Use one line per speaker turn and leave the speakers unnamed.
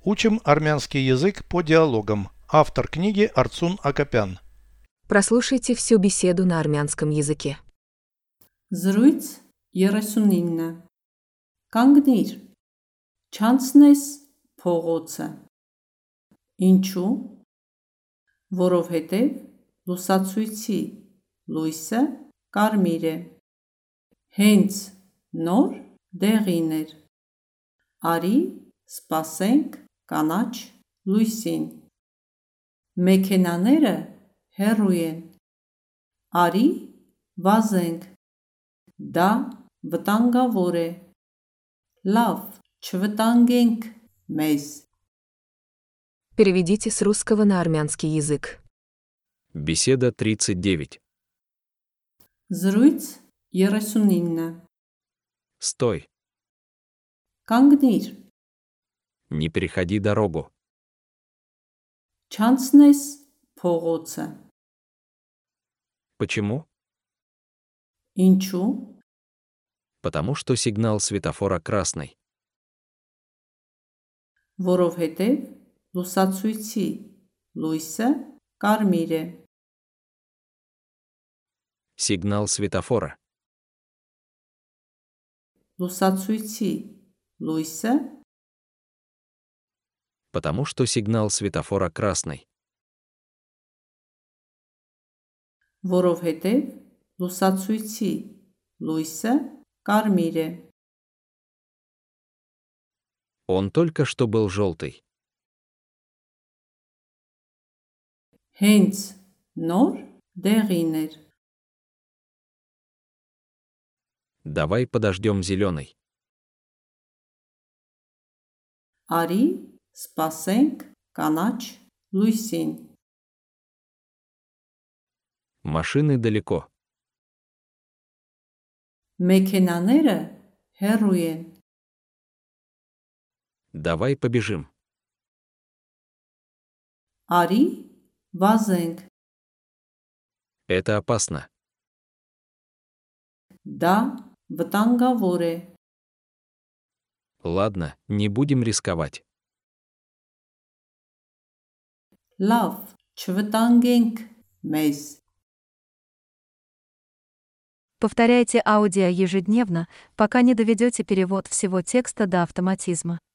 Учим армянский язык по диалогам. Автор книги Арцун Акопян.
Прослушайте всю беседу на армянском языке.
Զրույց 39 Կանգնիր, չանցնես փողոցը։ Ինչու՞։ Որովհետև լուսացույցի լույսը կարմիր է։ Հենց նոր դեղին էր։ Արի սպասենք կանաչ լույսին։ Մեքենաները հեռու են։ Արի վազենք։ Դա վտանգավոր է։ Լավ, չվտանգենք մեզ։
Переведите с русского на армянский язык.
Беседа 39.
Զրույց 39
Стой,
Կանգնիր,
не переходи дорогу.
չանցնես փողոցը։
Почему?
Ինչու՞։
Потому что сигнал светофора красный.
Որովհետև լուսացույցի լույսը կարմիր է։
Сигнал светофора.
Լուսացույցի լույսը
Потому что сигнал светофора красный.
որովհետև լուսացույցի լույսը կարմիր է։
Он только что был желтый.
Հենց նոր դեղին էր։
Давай подождем зеленый.
Արի սպասենք կանաչ լույսին։
Машины далеко.
Մեքենաները հեռու են։
Давай побежим.
Արի վազենք։
Это опасно.
Դա վտանգավոր է։
Ладно, не будем рисковать.
Լավ, չվտանգենք մեզ։
Повторяйте аудио ежедневно, пока не доведете перевод всего текста до автоматизма.